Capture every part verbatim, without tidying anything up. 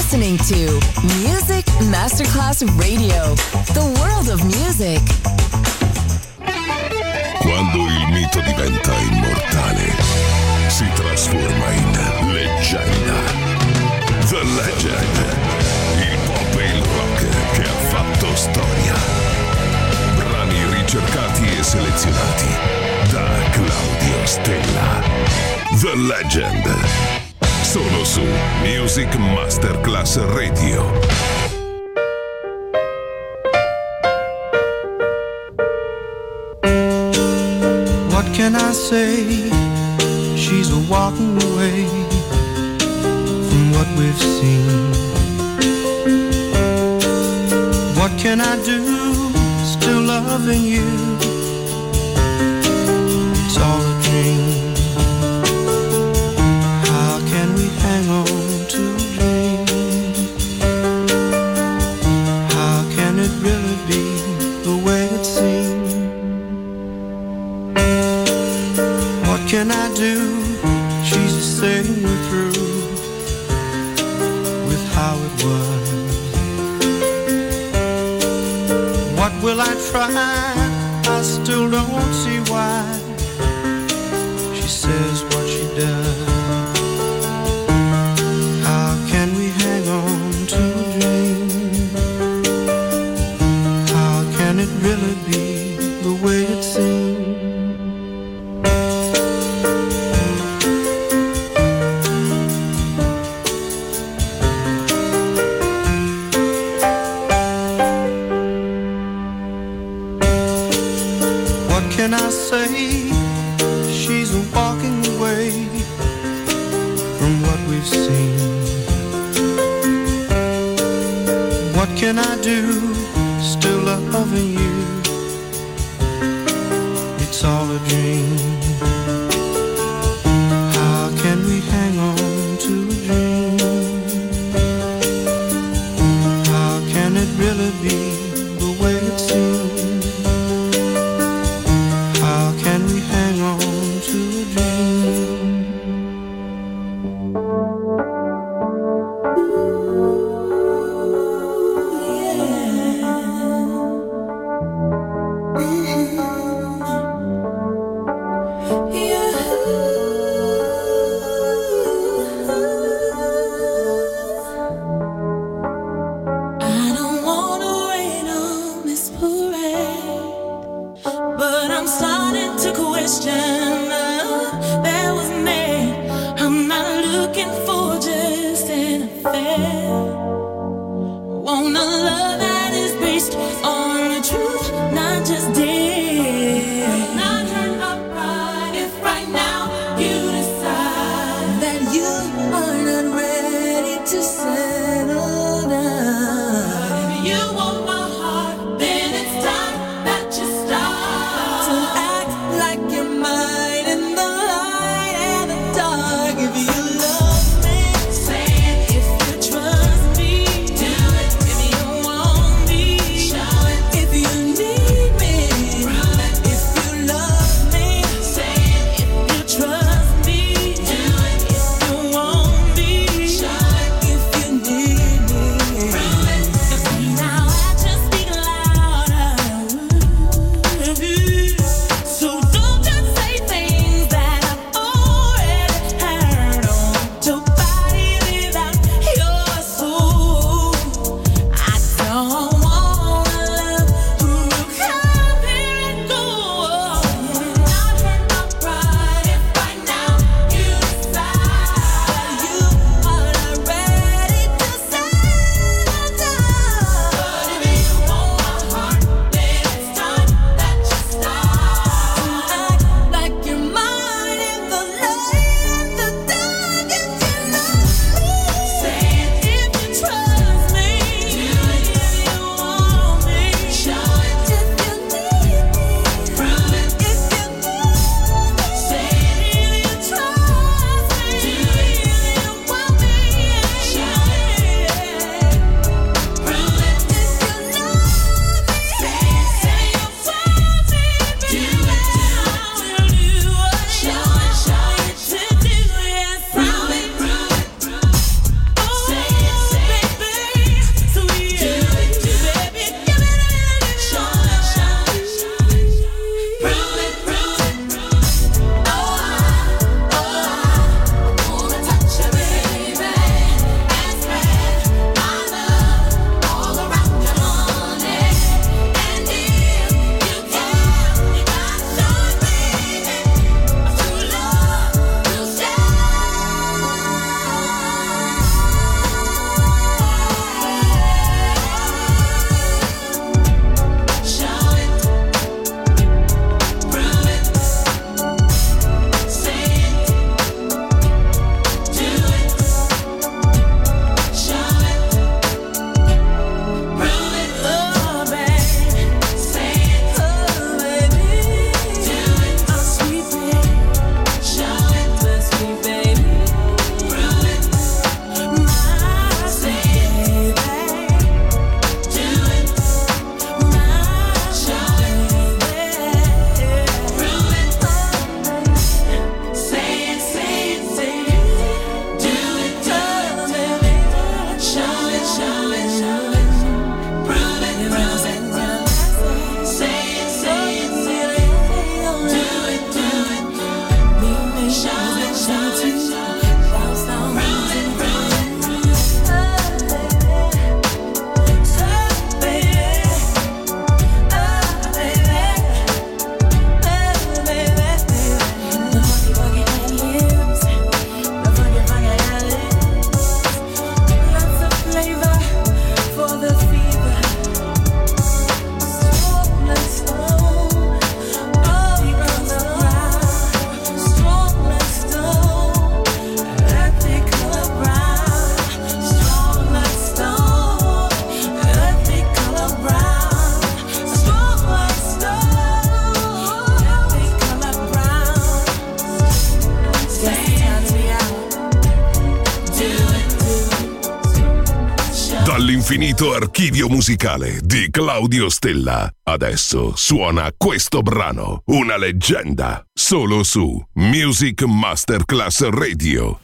listening to Music Masterclass Radio, the world of music. Quando il mito diventa immortale, si trasforma in leggenda. The Legend, il pop e il rock che ha fatto storia. Brani ricercati e selezionati da Claudio Stella. The Legend, solo su Music Masterclass Radio. What can I say? She's a walking away from what we've seen. What can I do? Still loving you. It's all a dream. How can we hang on to a dream? How can it really be the way it seems? What can I do? She's the same we're through with how it was. What will I try? I still don't see why she says what she does. How can we hang on to a dream? How can it really be the way it seems? Can I say she's walking away from what we've seen? What can I do? Still loving you. It's all a dream. How can we hang on to a dream? How can it really be the way it seems? L'infinito archivio musicale di Claudio Stella. Adesso suona questo brano, una leggenda, solo su Music Masterclass Radio.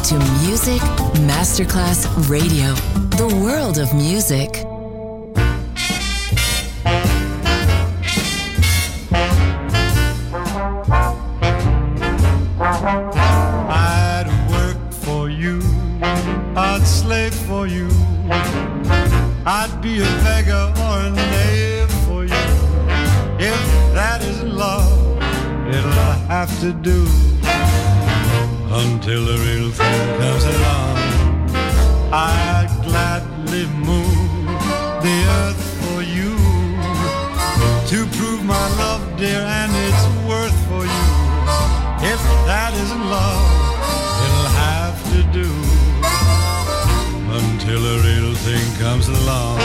to Music Masterclass Radio, the world of music. I'd work for you, I'd slave for you, I'd be a beggar or a knave for you. If that is love, it'll have to do until the real thing comes along. I'd gladly move the earth for you to prove my love, dear, and its worth for you. If that isn't love, it'll have to do until the real thing comes along.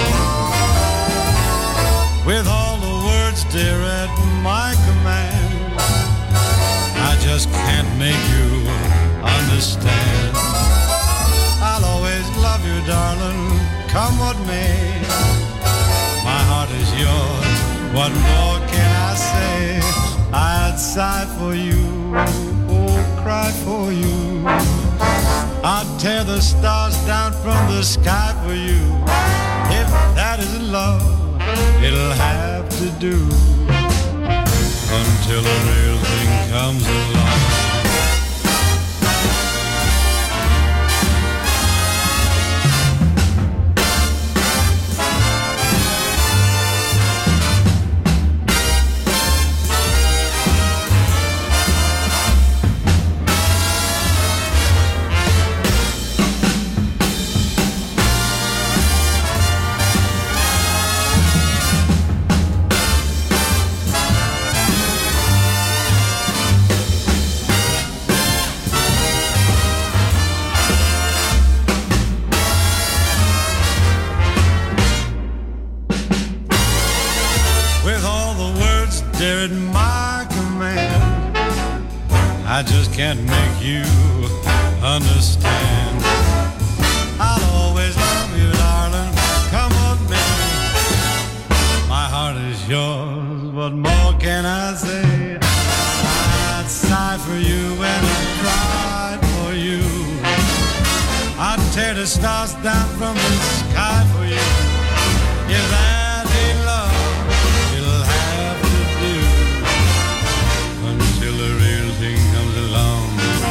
With all the words, dear, at my command, I just can't make you understand. I'll always love you, darling, come what may. My heart is yours, what more can I say? I'd sigh for you, oh, cry for you. I'd tear the stars down from the sky for you. If that isn't love, it'll have to do until the real thing comes along. I just can't make you understand. I'll always love you, darling, come on, baby. My heart is yours, what more can I say? I'd sigh for you and I'd cry for you. I'd tear the stars down from the sky for you. If that ain't love, it'll have to do until the real thing comes along.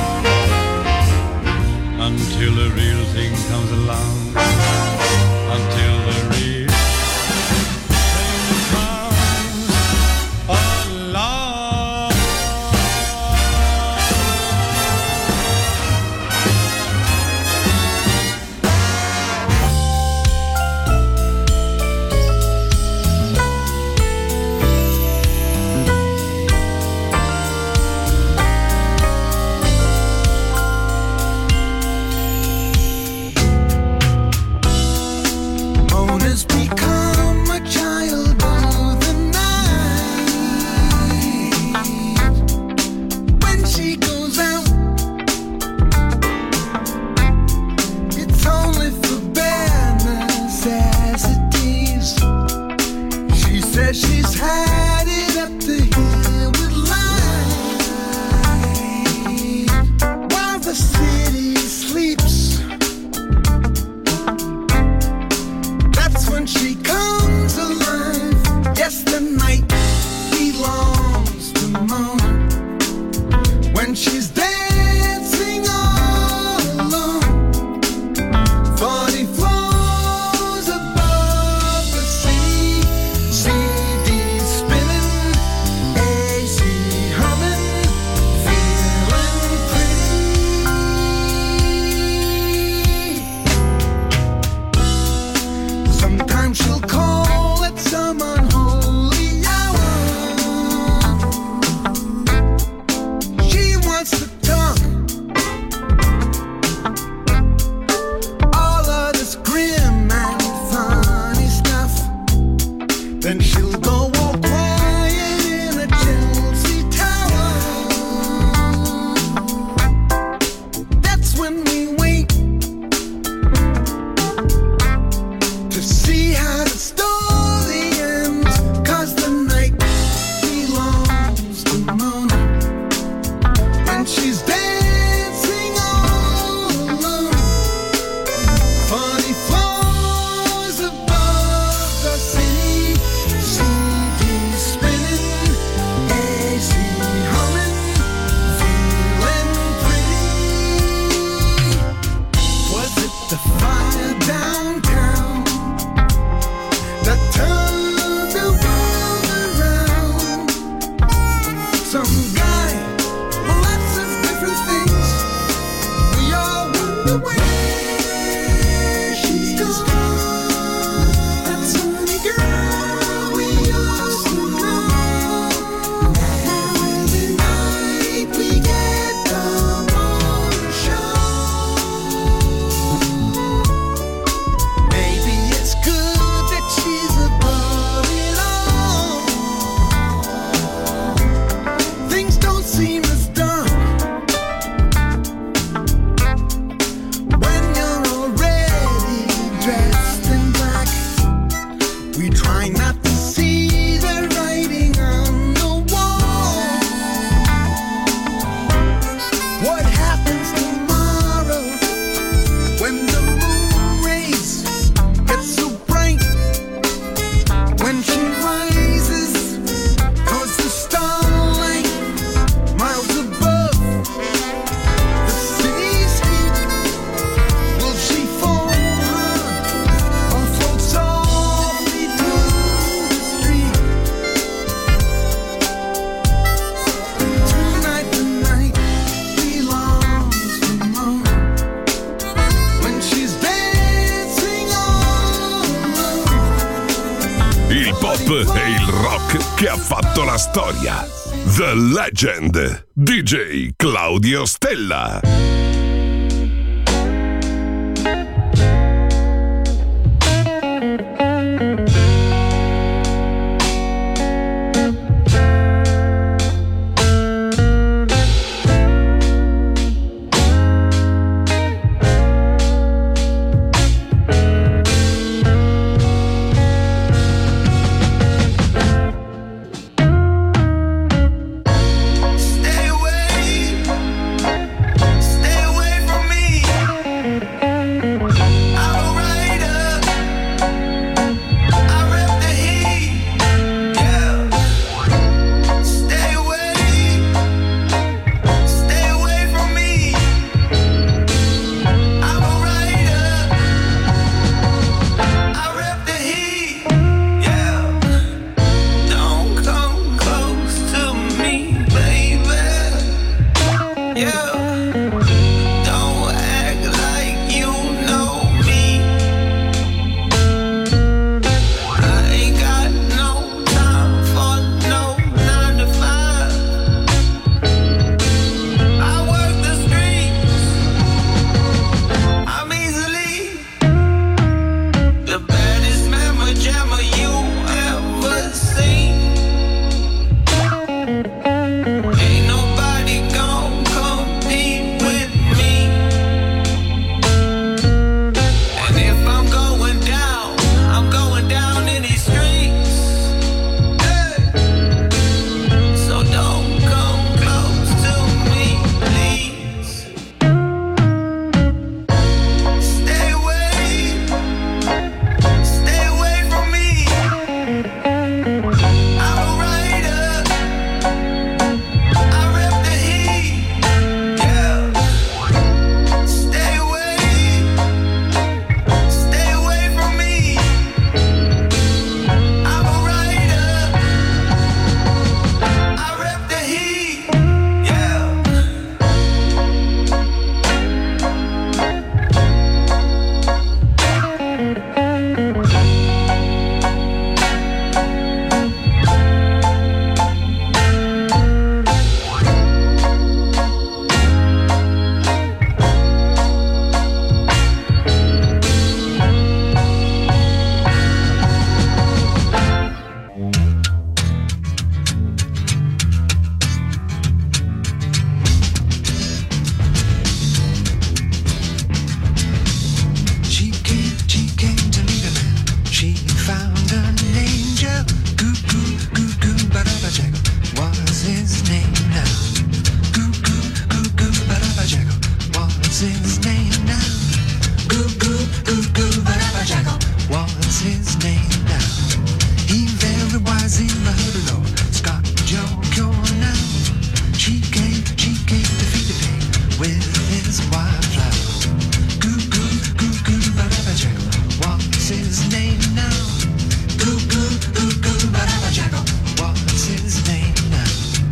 Until the real thing comes along. Until the real thing comes along. Mona's become a child of the night. When she goes out, it's only for bare necessities. She says she's had it up to here with life. While the city sleeps, that's when she comes alive. Yes, the night belongs to Mona. When she's dancing all alone, forty floors above the sea, C D spinning, A C humming, feeling pretty. Sometimes she'll call at some unholy hour. She wants to talk all of this grim and funny stuff. Then she'll go all quiet in a Chelsea tower. That's when we wait to see how the story ends, 'cause the night belongs to Mona. When she's dancing all E il rock che ha fatto la storia. The Legend, D J Claudio Stella.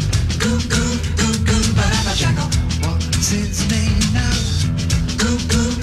What's his name now? Goo goo.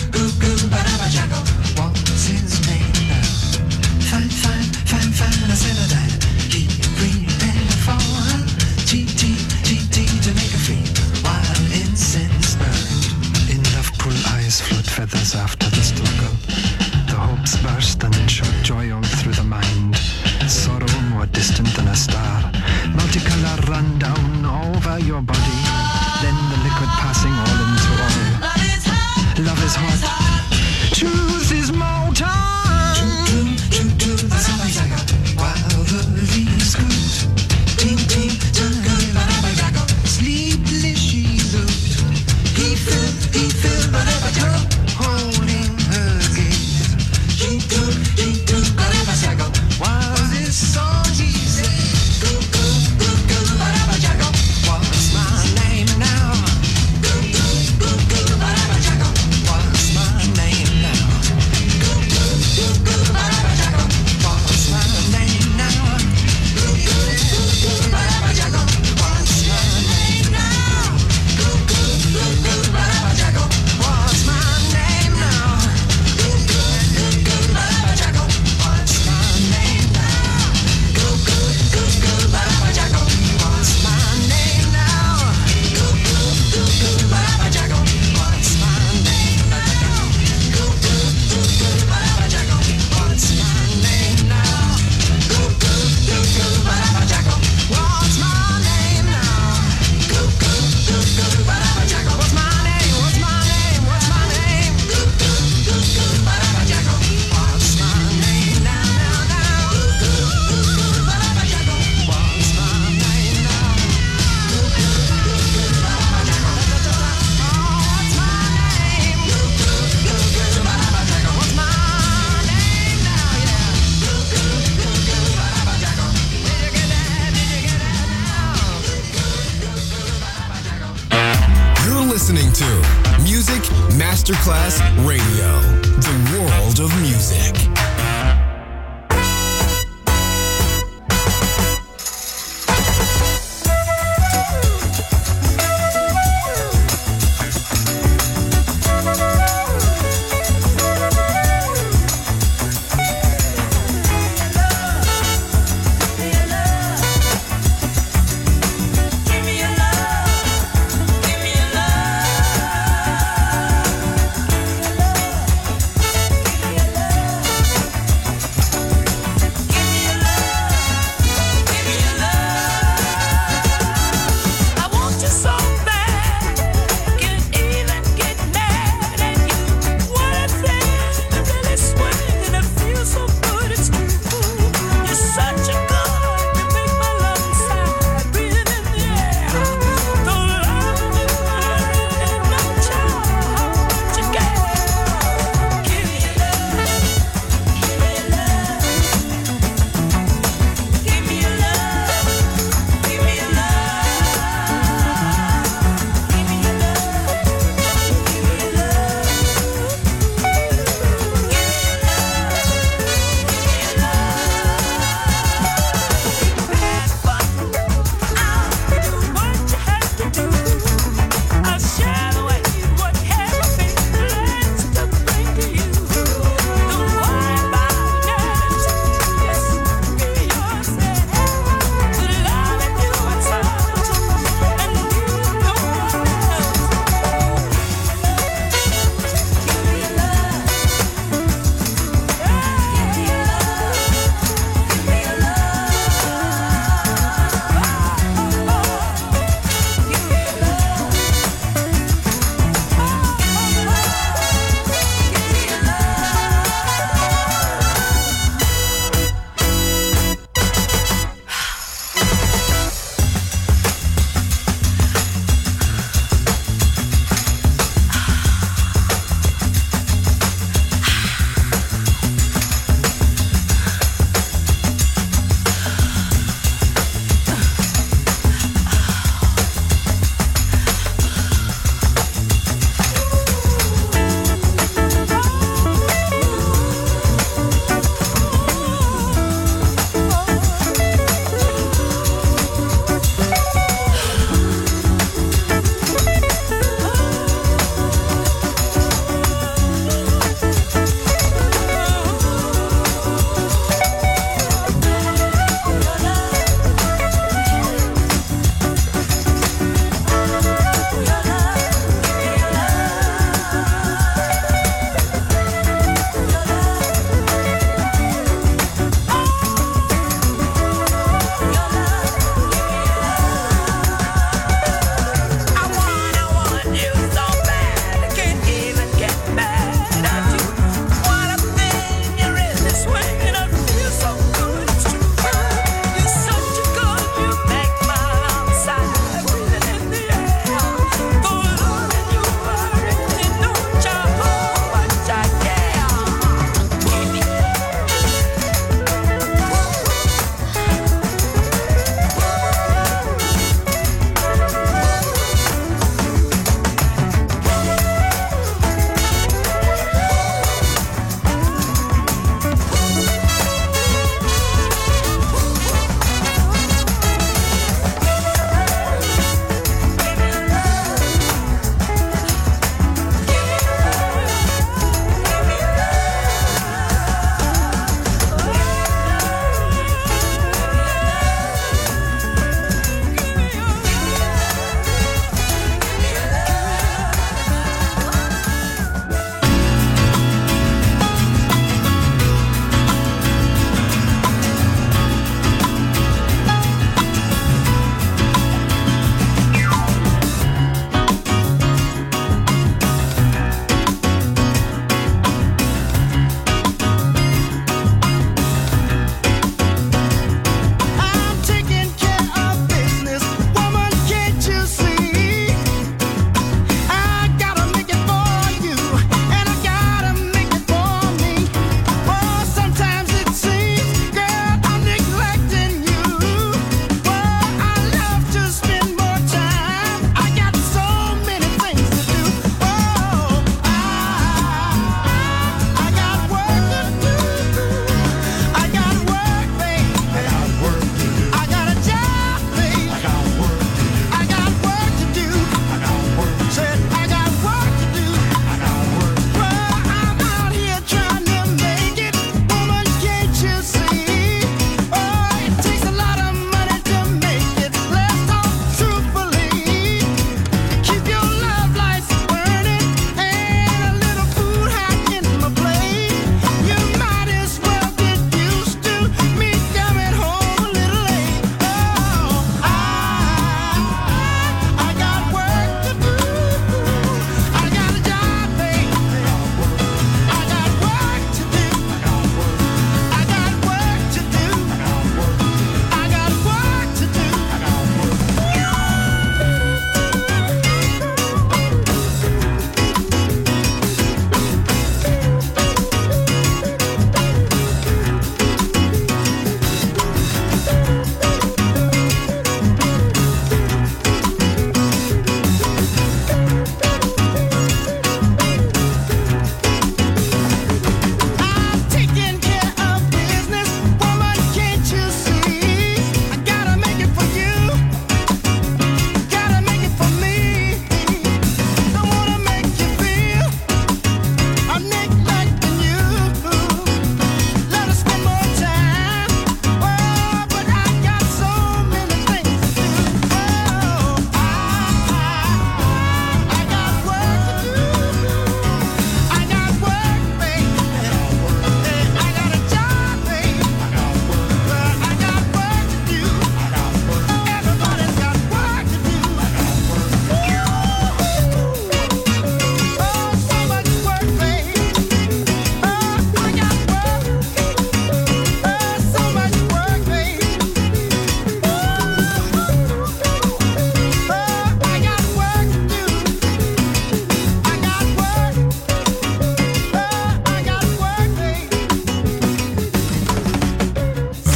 listening to Music Masterclass Radio, the world of music. Give me your love.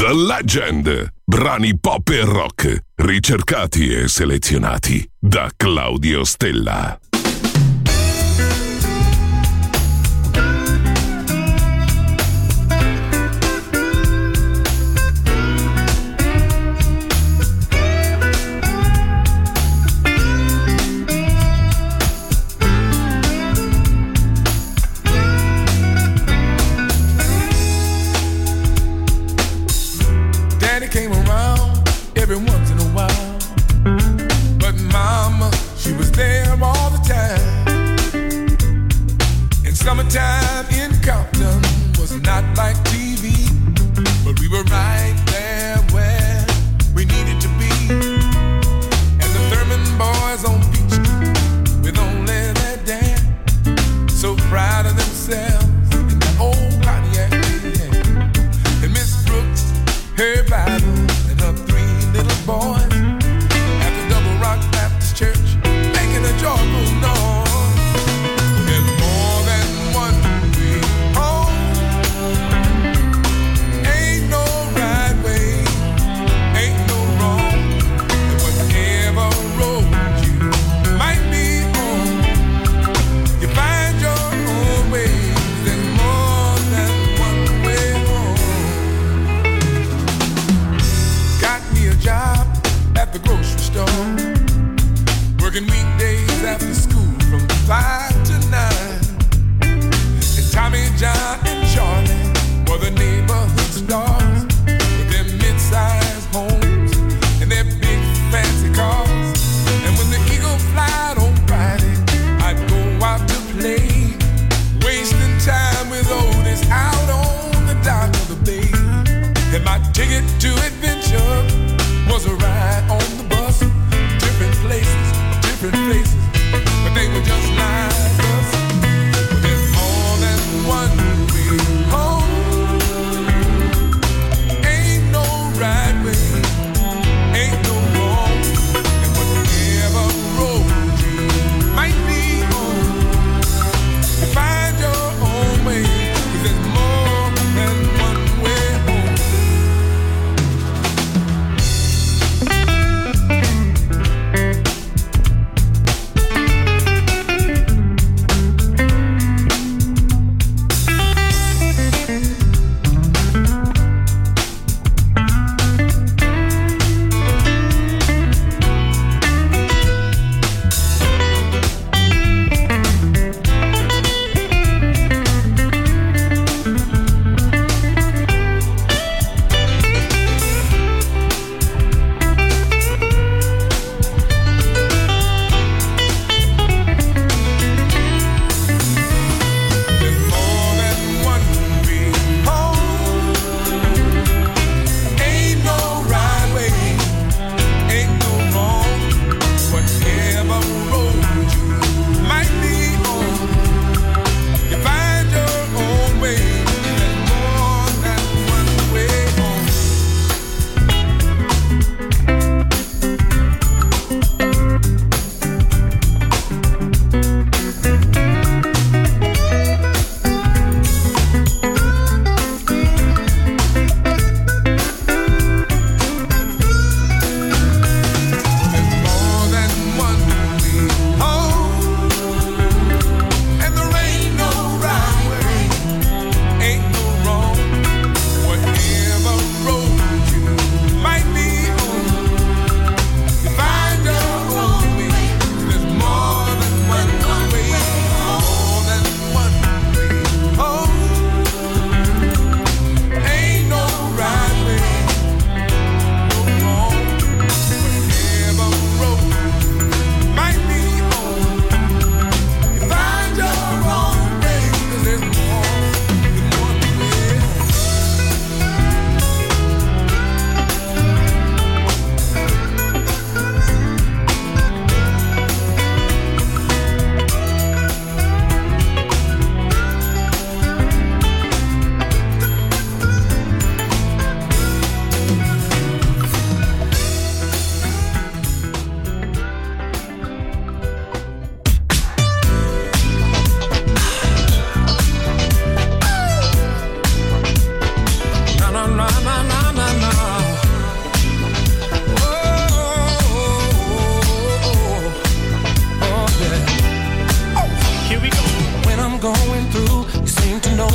The Legend. Brani pop e rock, ricercati e selezionati da Claudio Stella. Came around every once in a while, but mama, she was there all the time. In summertime in Compton was not like T V, but we were right there where we needed to be. And the Thurman boys on Beach Street with only their dad, so proud of themselves in that old Pontiac. And Miss Brooks, her Bible, and her three little boys at the Double Rock Baptist Church, making a joyful noise. There's more than one way home. Ain't no right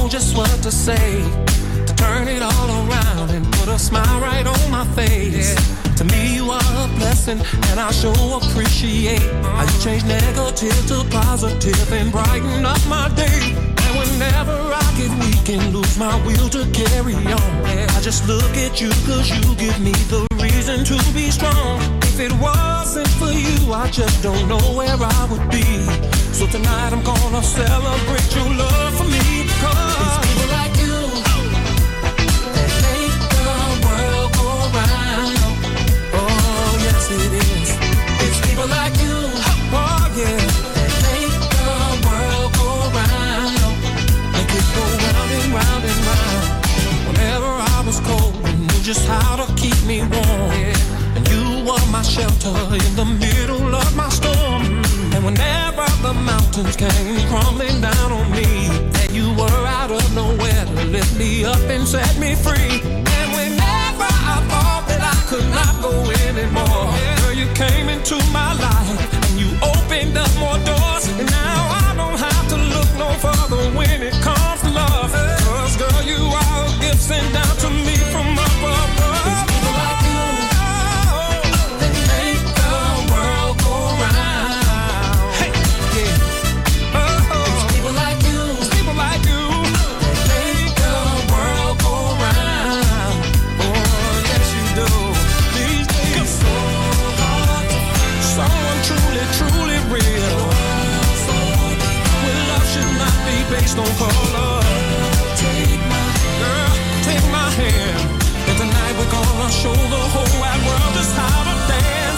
know just what to say to turn it all around and put a smile right on my face. Yeah. To me you are a blessing and I sure appreciate how you change negative to positive and brighten up my day. And whenever I get weak and lose my will to carry on, yeah, I just look at you cause you give me the reason to be strong. If it wasn't for you, I just don't know where I would be. So tonight I'm gonna celebrate your love for me. Cause it's people like you that make the world go round. Oh yes it is. It's people like you, oh yeah, that make the world go round. Make it go round and round and round. Whenever I was cold, you knew just how to keep me warm. Yeah. And you were my shelter in the middle of my storm. And whenever the mountains came crumbling down on me, that you were out of nowhere to lift me up and set me free. And whenever I thought that I could not go anymore, girl, you came into my life and you opened up more doors. And now I don't have to look no further when it comes to love. Cause girl, you are a gift sent down to me from above. It's people like you that make the world go round. Hey, yeah. Oh, it's people like you, it's people like you that make the world go round. Oh, yes you do. These days it's so hard to find someone truly, truly real. Well, love should not be based on color. Take my girl, take my hand, and tonight we're gonna show the whole wide world just how to dance.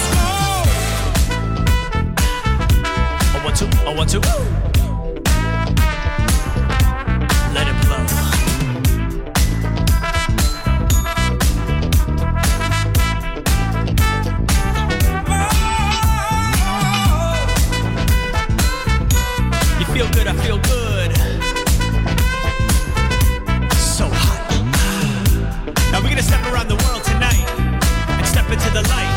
Go. I want to, I want to. Let it blow. You feel good, I feel good. So hot. Now we're gonna step around the world tonight and step into the light.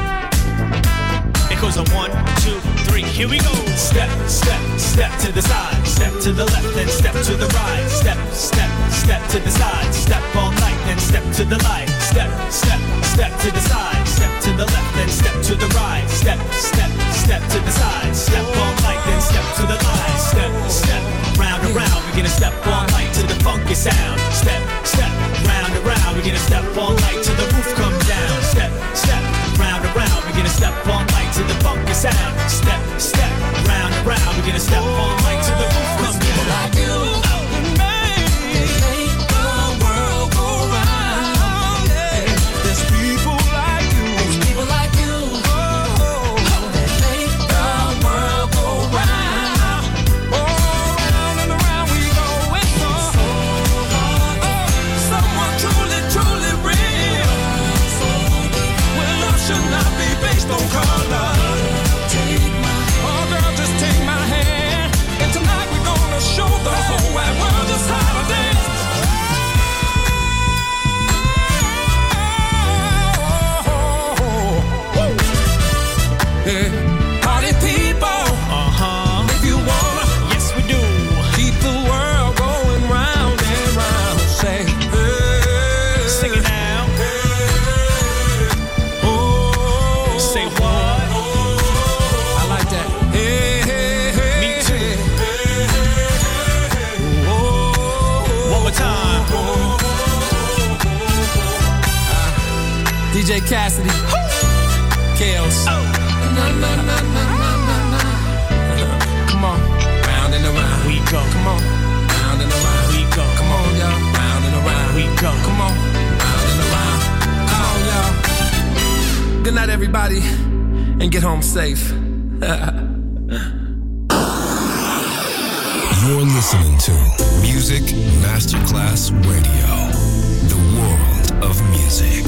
It goes on one, two, three, here we go. Step, step, step to the side. Step to the left, then step to the right. Step, step, step to the side. Step all night, then step to the light. Step, step, step to the side. Step to the left, then step to the right. Step, step, step to the side. Step all night, then step to the light. Step, step, round and round. We're gonna step all night to the funky sound. Step, step, round and round. We're gonna step all night till the roof comes down. Step, step, round and round. We're gonna step all night to the funky sound. Step, step, round and round. We're gonna step all night till the roof comes down. People like you and me, they make the world go round. Yeah. There's people like you, there's people like you, oh, that make the world go round. Oh, round and around we go. It's so hard. Oh, someone truly, truly real. Well, love should not be based on color. Take my oh, girl, just take my hand. And tonight we're gonna show the whole wide world just how to dance. Yeah. Party people, uh-huh. If you wanna, yes we do. Keep the world going round and round. Say, hey, sing it now. Hey, oh, say what? I like that. Hey, hey, hey. Me too. Hey, hey, hey. Oh, one more time. Uh, D J Cassidy, Kales. Oh. Na, na, na, na, na, na, na. Come on, round and around we go. Come on, round and around we go. Come on, y'all, round and around we go. Come on, round and around. Come on, y'all. Good night, everybody, and get home safe. You're listening to Music Masterclass Radio, the world of music.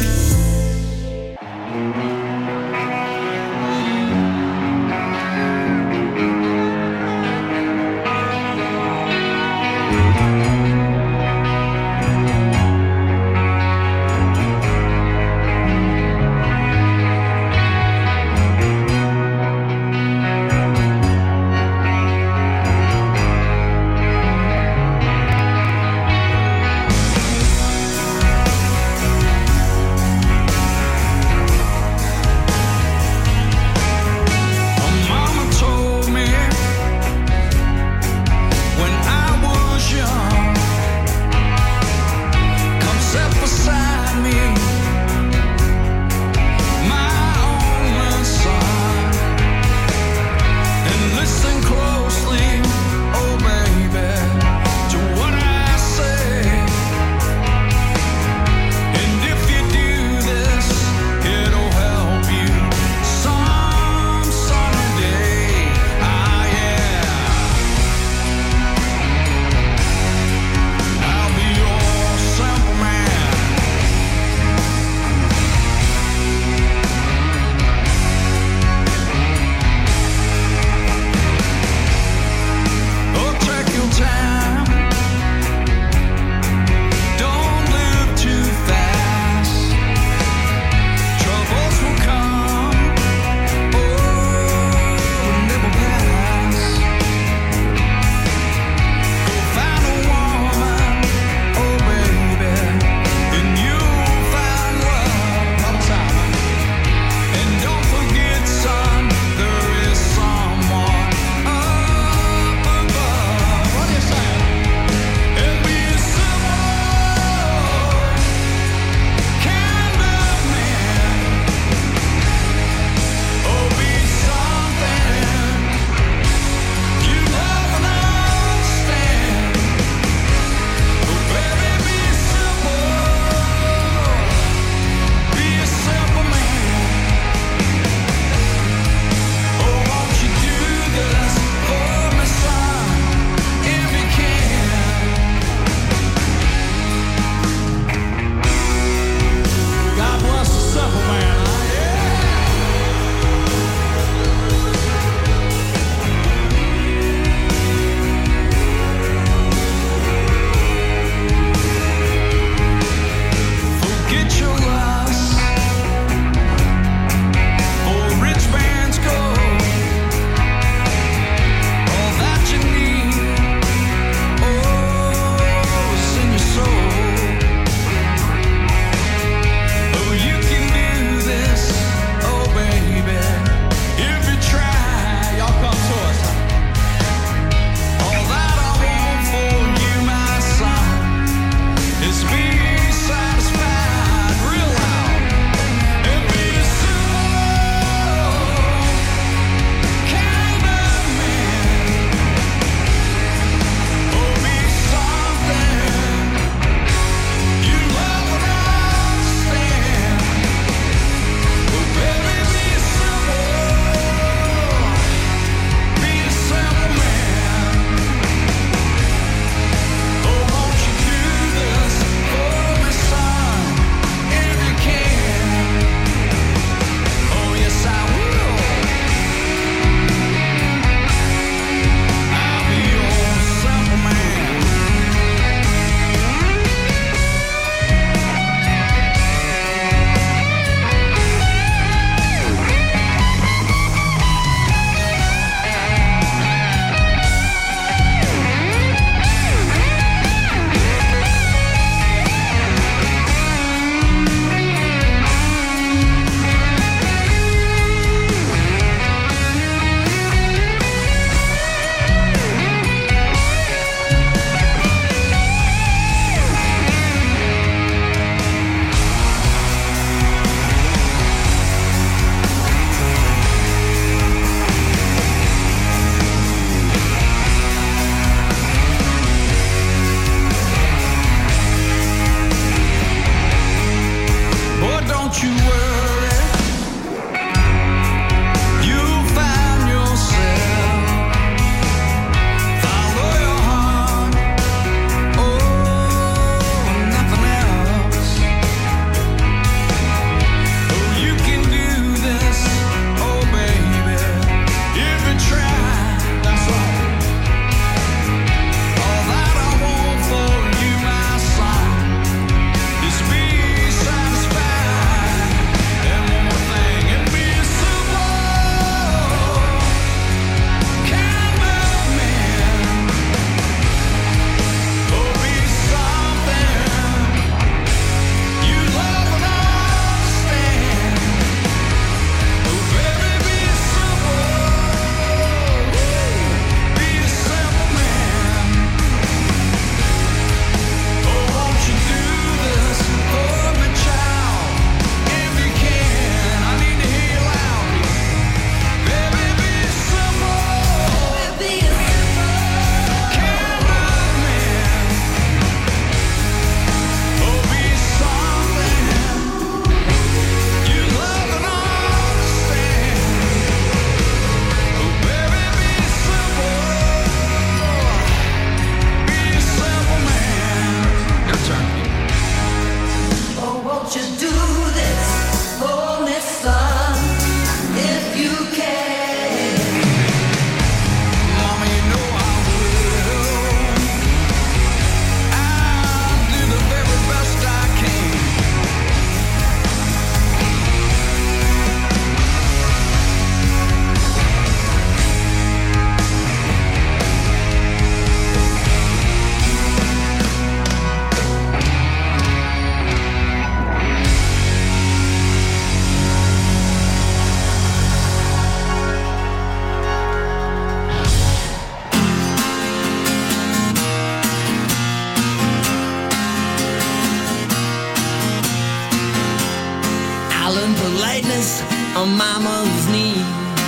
on my mother's knee.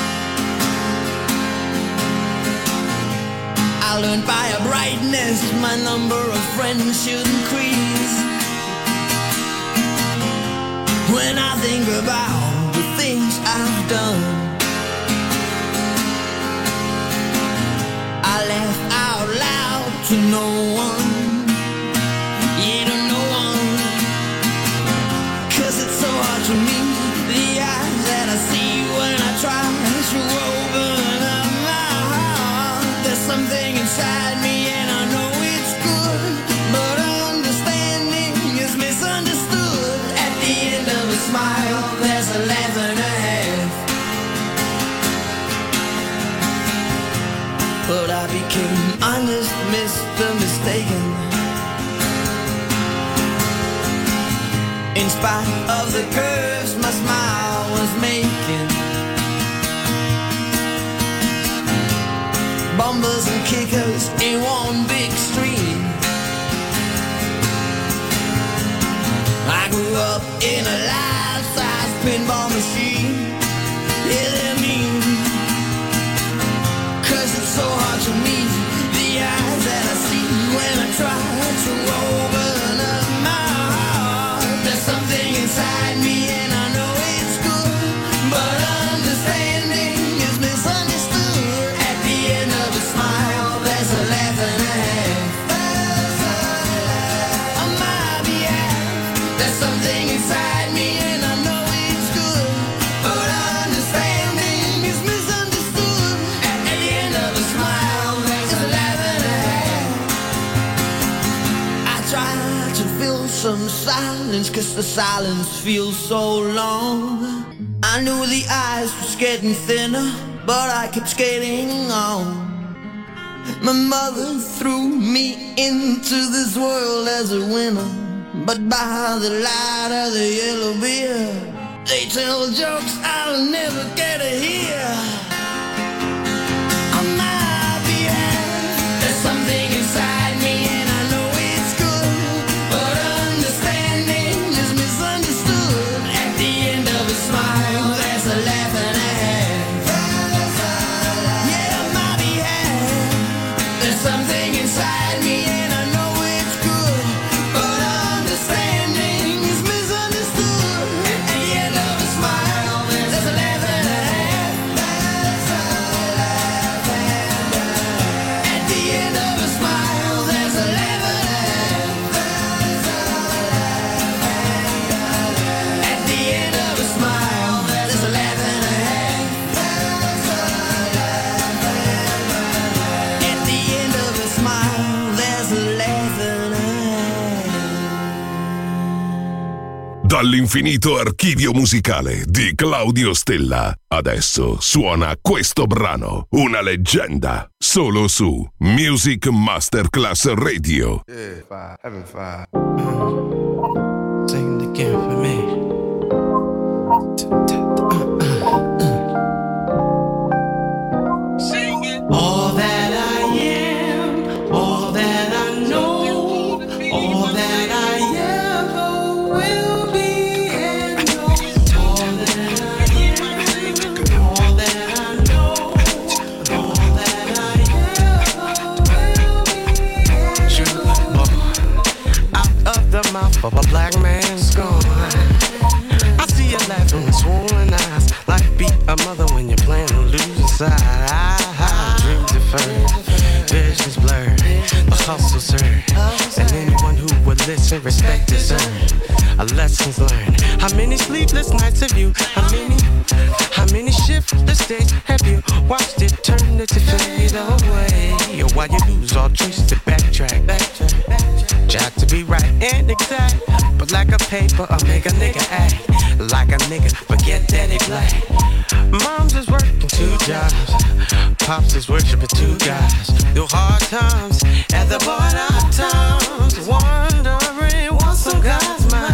I learned by a brightness my number of friends should increase. When I think about the things I've done, I laugh out loud to no one, yeah, to no one, 'cause it's so hard to meet the eyes that I see when I try to open up my heart. There's something inside me and I know it's good, but understanding is misunderstood. At the end of a smile, there's a laugh and a half. But I became honest, Mister Mistaken. In spite of the curves my smile was making, bumpers and kickers in one big stream. I grew up in a life-size pinball machine. Yeah, they're mean, 'cause it's so hard to meet the eyes that I see when I try to open up my heart. There's something inside me and I know it's good, but understanding is misunderstood. At the end of a smile, there's a laugh and a half. On my behalf, there's something inside me and I know it's good, but understanding is misunderstood. At the end of a smile, there's a laugh and a half. I try to fill some silence, 'cause the silence feels so long. I knew the eyes was getting thinner, but I kept skating on. My mother threw me into this world as a winner, but by the light of the yellow beer, they tell jokes I'll never get to hear. On my behalf, there's something inside me and I know it's good, but understanding is misunderstood. At the end of a smile, there's a laugh and a half. Yeah, on my behalf, there's something inside me and I know it's good, but understanding is misunderstood. At the end of a smile, there's a laugh and a half. At the end of a smile, there's a laugh and a half. At the end of a smile, there's a laugh and a half. At the end of a smile, there's a laugh and a half. Dall'infinito archivio musicale di Claudio Stella, adesso suona questo brano, una leggenda, solo su Music Masterclass Radio. Yeah, five, having five. Sing it again for me. All that I am, all that I know, all that I ever will be and know. All that I am, all that I know, all that I ever will be and know. Out of the mouth of a black man's gone. I see you laughing with swollen eyes, like beat a mother when you're playing to lose a side. Dreams deferred, visions blurred, the hustle served, and anyone who would listen, respect is earned. A lessons learned. How many sleepless nights have you? How many? How many shiftless days have you watched eternity fade away? Or why you lose all choice to backtrack? Jack to be right and exact, but like a paper, I make a nigga act like a nigga. Forget that he black. Mom's is working two jobs, pops is worshiping two guys. Through hard times, at the border of times, wondering what's on God's mind.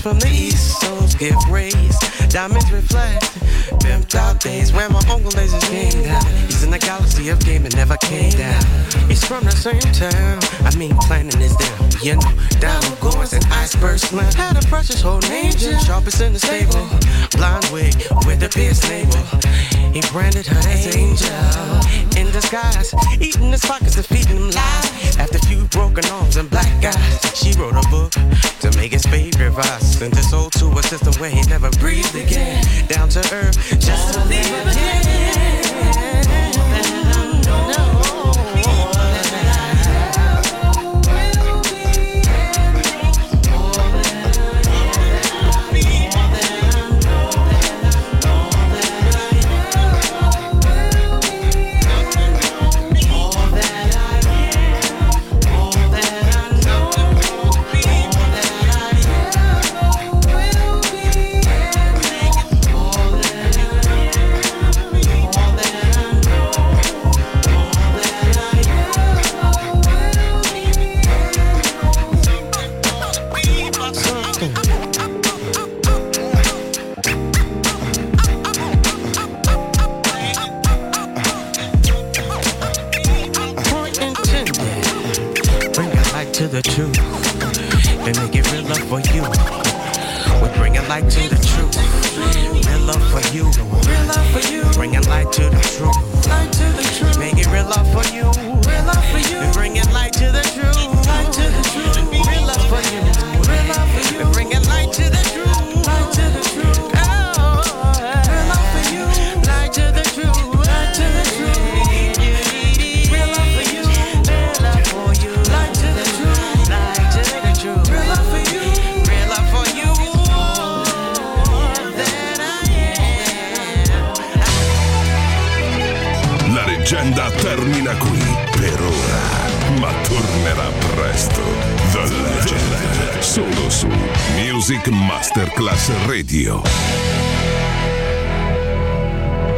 from the east, souls get raised. Diamonds reflect, pimped out days where my uncle lasers came down. He's in the galaxy of game and never came down. He's from the same town, I mean planning is down. You know, down goings and iceberg slim. Had a precious whole angel, sharpest in the stable. Blonde wig with a pierced navel. He branded her as angel in disguise, eating his pockets and feeding him lies. After a few broken arms and black eyes, she wrote a book to make his favorite rise. Sent his soul to a system where he never breathed again. Down to earth, just to leave again. The truth and make it real love for you. We bring it light to the truth. Real love for you. Real love for you. Bring it light to the truth. Light to the truth. Make it real love for you. Real love for you. We bring it light to the truth. Light to the truth. Real love for you. Real love for you. We bring it light to the truth. Light to the truth. Oh, real love for you. Light to the truth. Light to the truth. Real love for you. Real love for you. Light to the truth. La leggenda termina qui per ora, ma tornerà presto. The Legend, solo su Music Masterclass Radio.